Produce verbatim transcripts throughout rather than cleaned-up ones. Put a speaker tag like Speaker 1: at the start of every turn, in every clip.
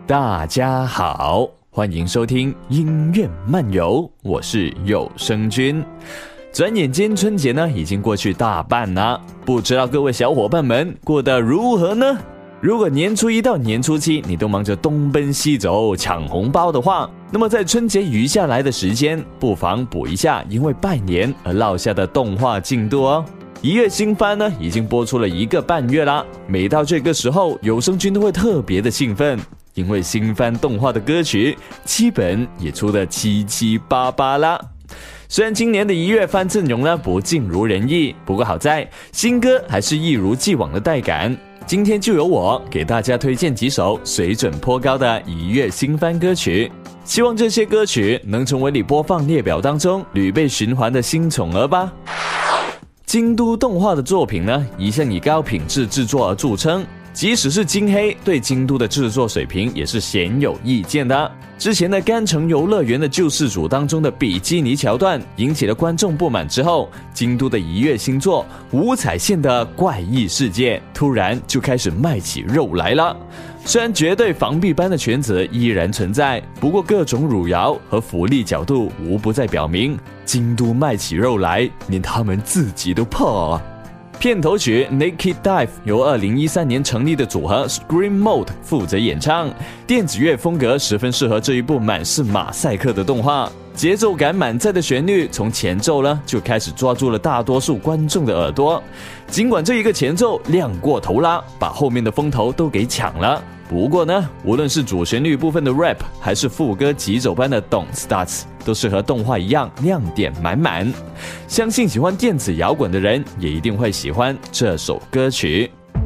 Speaker 1: 大家好，欢迎收听音乐漫游，我是有声君。转眼间春节呢已经过去大半了，不知道各位小伙伴们过得如何呢？如果年初一到年初七你都忙着东奔西走抢红包的话，那么在春节余下来的时间，不妨补一下因为拜年而落下的动画进度哦。一月新番呢已经播出了一个半月啦，每到这个时候，有声君都会特别的兴奋，因为新番动画的歌曲基本也出得七七八八啦。虽然今年的一月番阵容呢不尽如人意，不过好在新歌还是一如既往的带感。今天就由我给大家推荐几首水准颇高的一月新番歌曲，希望这些歌曲能成为你播放列表当中屡被循环的新宠儿吧。京都动画的作品呢，一向以高品质制作而著称，即使是京黑对京都的制作水平也是鲜有意见的。之前的甘城游乐园的救世主当中的比基尼桥段引起了观众不满之后，京都的一月新作五彩线的怪异世界突然就开始卖起肉来了。虽然绝对防壁般的圈子依然存在，不过各种汝窑和福利角度无不在表明，京都卖起肉来连他们自己都怕啊。片头曲 Naked Dive 由二零一三年成立的组合 Scream Mode 负责演唱，电子乐风格十分适合这一部满是马赛克的动画，节奏感满载的旋律从前奏呢就开始抓住了大多数观众的耳朵。尽管这一个前奏亮过头啦，把后面的风头都给抢了，不过呢，无论是主旋律部分的 rap 还是副歌急走般的 Don't Start， 都是和动画一样亮点满满。相信喜欢电子摇滚的人也一定会喜欢这首歌曲。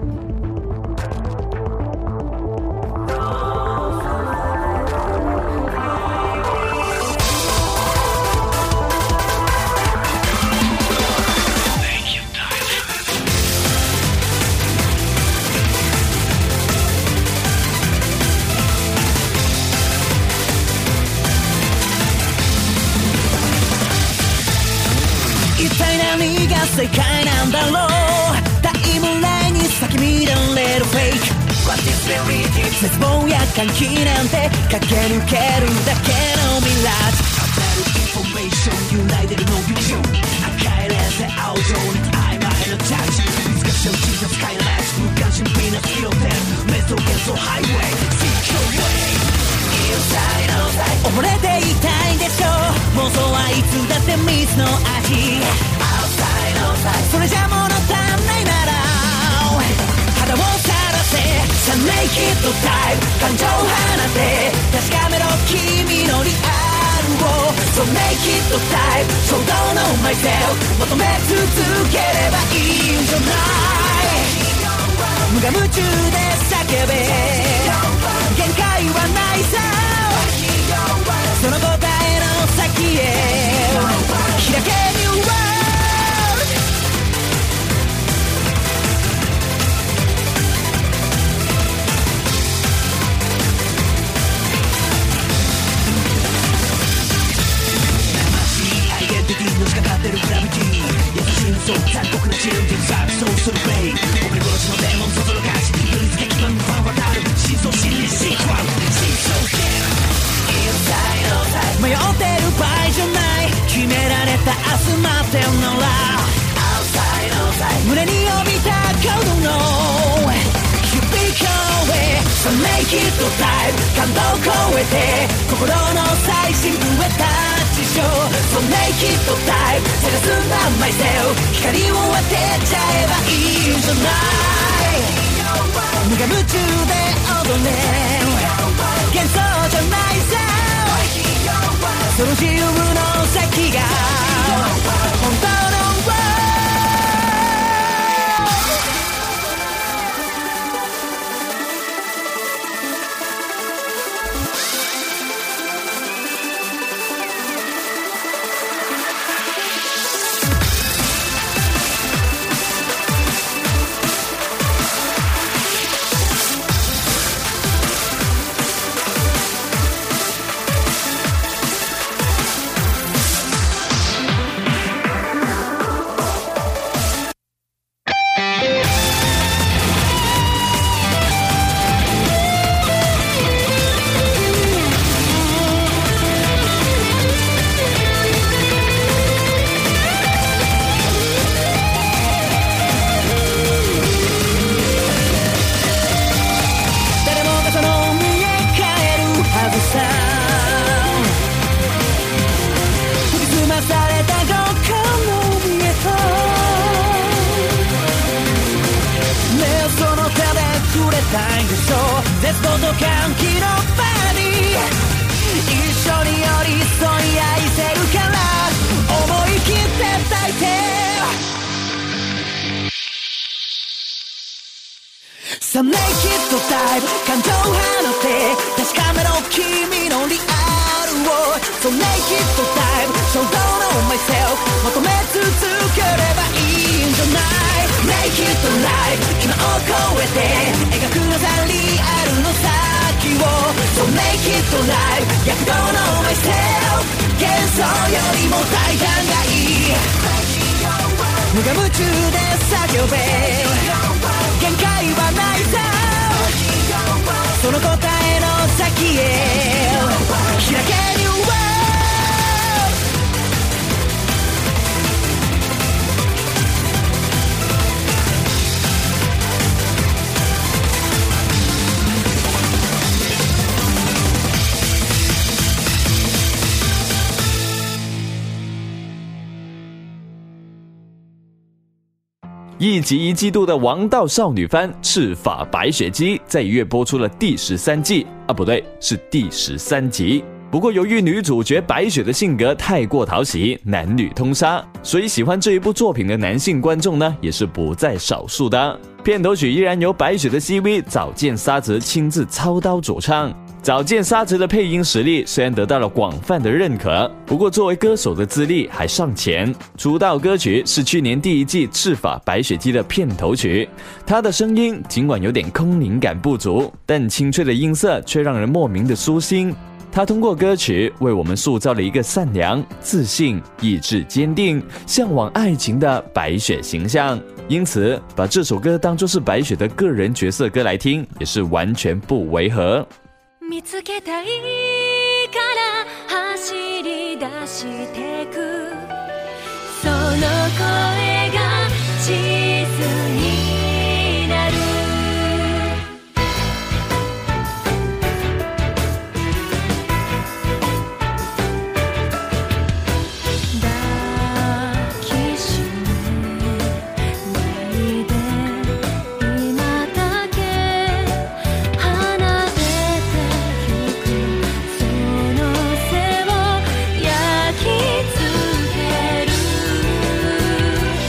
Speaker 2: 世界なんだろう、タイムラインに咲き乱れるフェイク What is reality、 絶望や歓喜なんて駆け抜けるだけのミラージュ、当たるインフォメーション揺らいでるのビジョン、赤いレンズで青状に曖昧なタッチ、難しい小さスカイライト、無関心ピーナッツ拾ってる瞑想幻想ハイウェイ Seek your way Inside outside 溺れていたいんでしょう、妄想はいつだって水の味、それじゃ物足んないなら肌をさらせ、さあネイキッドタイプ、感情を放て確かめろ君のリアルを、そうネイキッドタイプ、衝動のマイセル求め続ければいいんじゃない、無我夢中で叫べ限界はないさ、その答えの先へ開けニューワールド、そう残酷なチルで錯綜するベイ、俺殺しのデーモンそそろかし、振り付け基盤のファン渡る真相心理シークワル真相ゲーム、迷ってる場合じゃない、決められた明日待ってんのら、胸に帯びたコードの響き声、So make it time 感動を超えて心の最深部へタッチしよう、So make it time 探すんだ myself 光を当てちゃえばいいんじゃない、無我夢中で踊れ幻想じゃないさ、その自由の先が本当のと歓喜の場に一緒に寄り添い愛せるから思い切って抱いてさあネイキッドダイブ感情放って確かめろ君のリアルを So naked to dive So don't know myself 求め続ければいいんじゃない Naked to life 今を超えて描くのさリアルの先を So naked to life 躍動の myself 幻想よりも大胆がいい無我夢中で叫べ限界はないさその答えの先へ開ける
Speaker 1: 一集一季度的王道少女番《赤发白雪姬》在一月播出了第十三季啊，不对，是第十三集。不过由于女主角白雪的性格太过讨喜，男女通杀，所以喜欢这一部作品的男性观众呢也是不在少数的。片头曲依然由白雪的 C V 早见沙子亲自操刀主唱。早见沙子的配音实力虽然得到了广泛的认可，不过作为歌手的资历还尚浅。出道歌曲是去年第一季《赤发白雪姬》的片头曲，她的声音尽管有点空灵感不足，但清脆的音色却让人莫名的舒心。她通过歌曲为我们塑造了一个善良、自信、意志坚定、向往愛情的白雪形象，因此把这首歌当作是白雪的个人角色歌来听，也是完全不违和。
Speaker 3: 見つけたいから走り出してくその声が地図になる抱きしめないで今だけ離れ「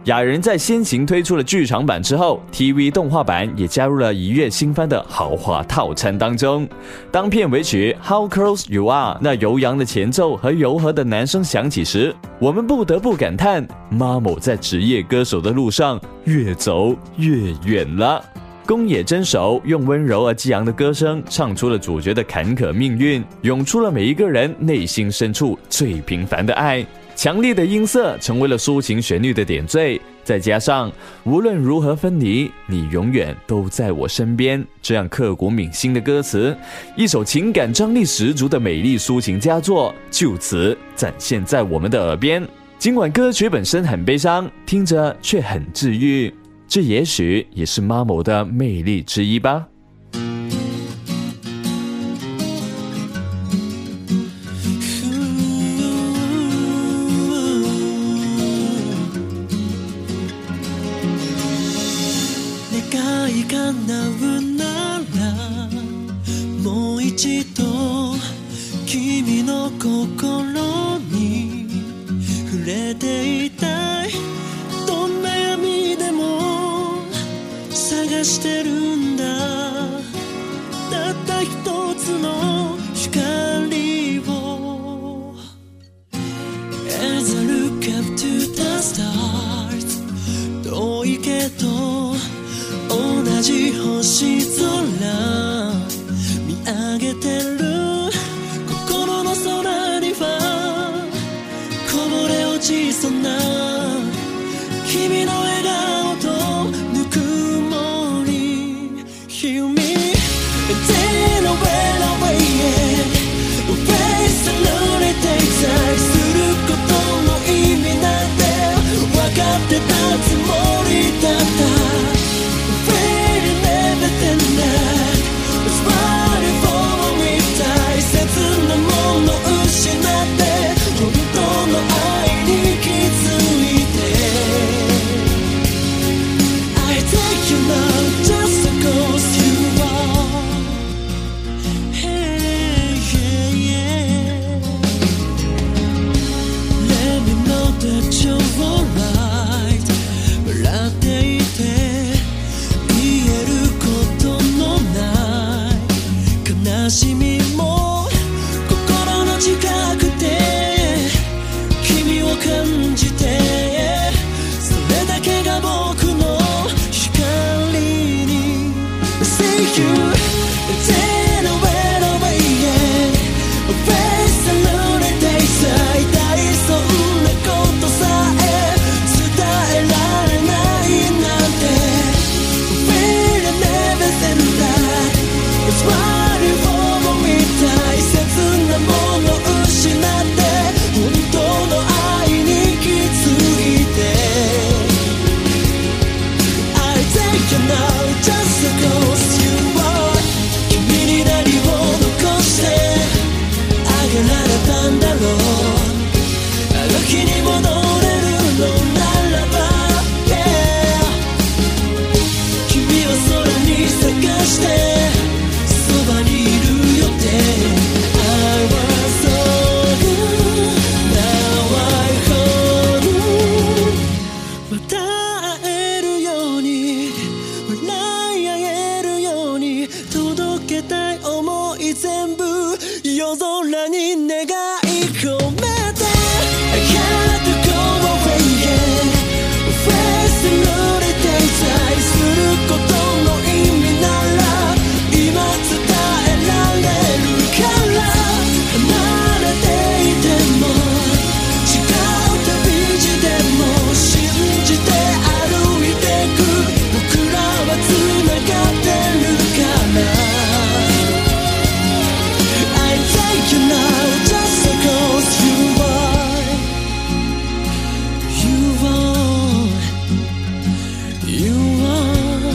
Speaker 1: 雅人在先行推出了剧场版之后 ，T V 动画版也加入了一月新番的豪华套餐当中。当片尾曲 How Close You Are 那悠扬的前奏和柔和的男声响起时，我们不得不感叹 Mamo 在职业歌手的路上越走越远了。宫野真守用温柔而激昂的歌声唱出了主角的坎坷命运，涌出了每一个人内心深处最平凡的爱。强烈的音色成为了抒情旋律的点缀，再加上无论如何分离，你永远都在我身边，这样刻骨铭心的歌词，一首情感张力十足的美丽抒情佳作就此展现在我们的耳边。尽管歌曲本身很悲伤，听着却很治愈，这也许也是 Mamo 的魅力之一吧。
Speaker 2: 君の心に触れていたいどんな闇でも探してるんだたった一つの光を As I look up to the stars 遠いけど同じ星空見上げてる心の空にはこぼれ落ちそうな君の笑顔とぬくもり Hear me and then I went away Face alone 停滞することの意味なんて分かってたつもりだった Feeling everything that was running for me 大切なもの失って本当の愛に気づいて I take you now just because you are Hey yeah yeah Let me know that you're alright 笑っていて言えることのない悲しみも心の近くで君を感じてそれだけが僕の光に See you then I went away Face alone 停滞大そんなことさえ伝えられないなんて Feeling everything that was running for me 大切なもの失って本当の愛に気づいて I take you now just because you are 君に何を残してあげられたんだろうあの日に戻れるのならば Yeah 君を空に探してそばにいるよって I was so good Now I hold また会えるように笑い合えるように届けたい想い全部夜空に願い込めて I had to go away Face alone 停滞することの意味なら今伝えられるから離れていても違う旅路でも信じて歩いてく僕らはつながってるから I take you now just because you are You are You are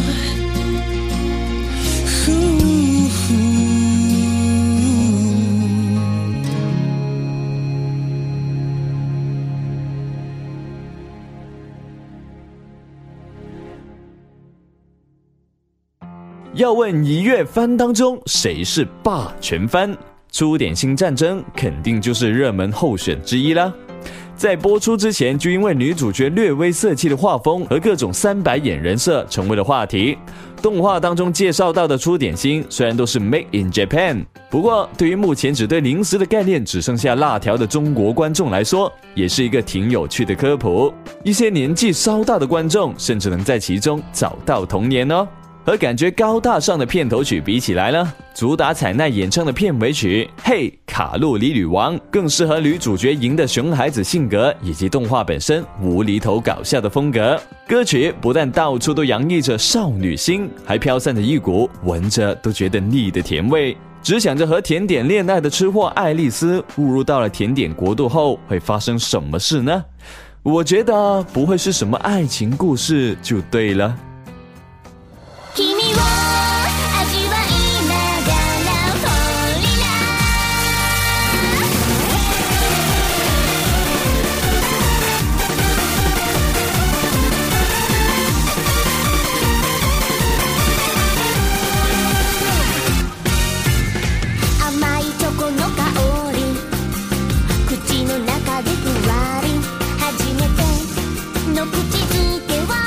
Speaker 2: Ooh.
Speaker 1: 要问一月番当中谁是霸权番，出点新战争肯定就是热门候选之一啦。 在播出之前，就因为女主角略微色气的画风和各种三白眼人设成为了话题。动画当中介绍到的出点心虽然都是 Made in Japan， 不过对于目前只对零食的概念只剩下辣条的中国观众来说，也是一个挺有趣的科普。一些年纪稍大的观众甚至能在其中找到童年哦。和感觉高大上的片头曲比起来呢，主打彩奈演唱的片尾曲《嘿卡路里女王》更适合女主角赢的熊孩子性格以及动画本身无厘头搞笑的风格。歌曲不但到处都洋溢着少女心，还飘散着一股闻着都觉得腻的甜味。只想着和甜点恋爱的吃货爱丽丝误入到了甜点国度后会发生什么事呢？我觉得不会是什么爱情故事就对了。
Speaker 3: 君を味わいながらフォーリラ甘いチョコの香り口の中でふわり初めての口づけは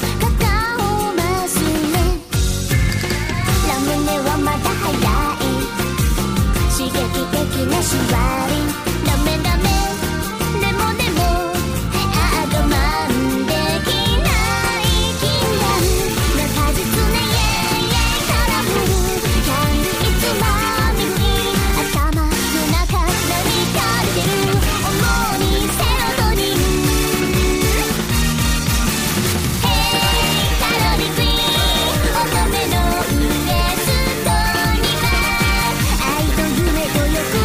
Speaker 3: シュワリンダメダメでもでもあ我慢できない禁断な果実ねイエイイエイカラフルキャンディーつまみに頭の中何か出てる主にセロトニン Hey カロリーフリー乙女のウエストには愛と夢と欲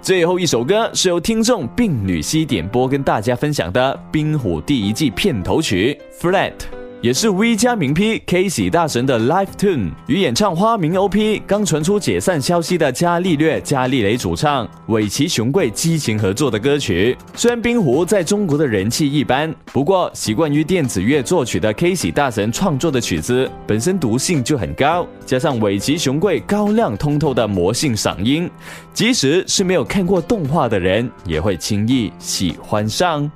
Speaker 1: 最后一首歌是由听众病女西点播跟大家分享的冰虎第一季片头曲 Flat， 也是 V 加名 P K 喜大神的 Live Tune， 与演唱花名 O P 刚传出解散消息的伽利略伽利雷主唱尾崎雄贵激情合作的歌曲。虽然冰虎在中国的人气一般，不过习惯于电子乐作曲的 K 喜大神创作的曲子本身毒性就很高，加上尾崎雄贵高亮通透的魔性嗓音，即使是没有看过动画的人也会轻易喜欢上。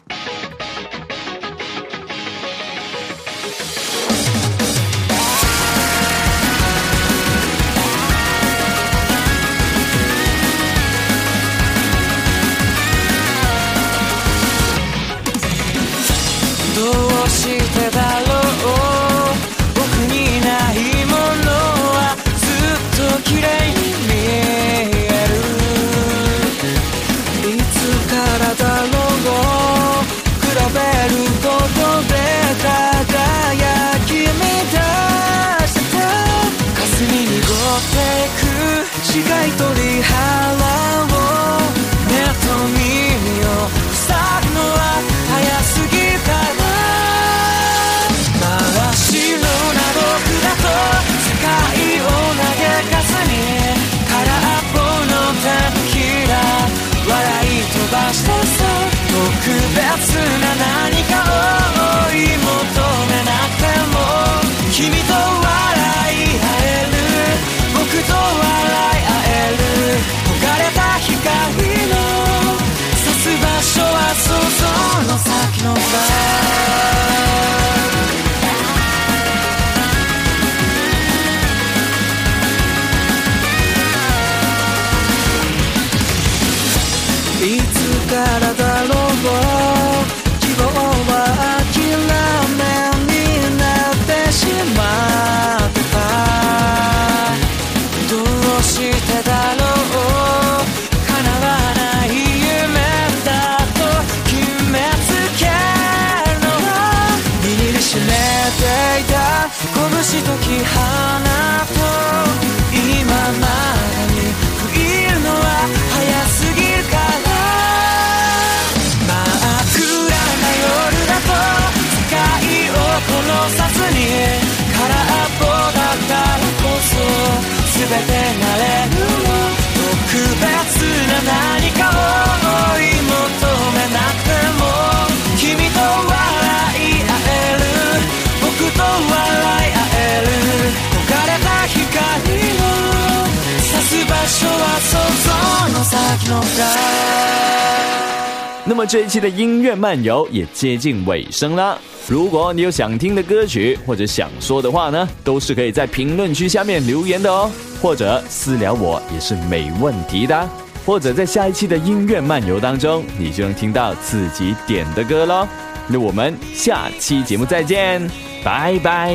Speaker 1: 那么这一期的音乐漫游也接近尾声啦。如果你有想听的歌曲或者想说的话呢，都是可以在评论区下面留言的哦，或者私聊我也是没问题的。或者在下一期的音乐漫游当中，你就能听到自己点的歌咯。那我们下期节目再见，拜拜。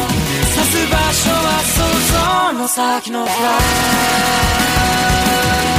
Speaker 2: 先のフライ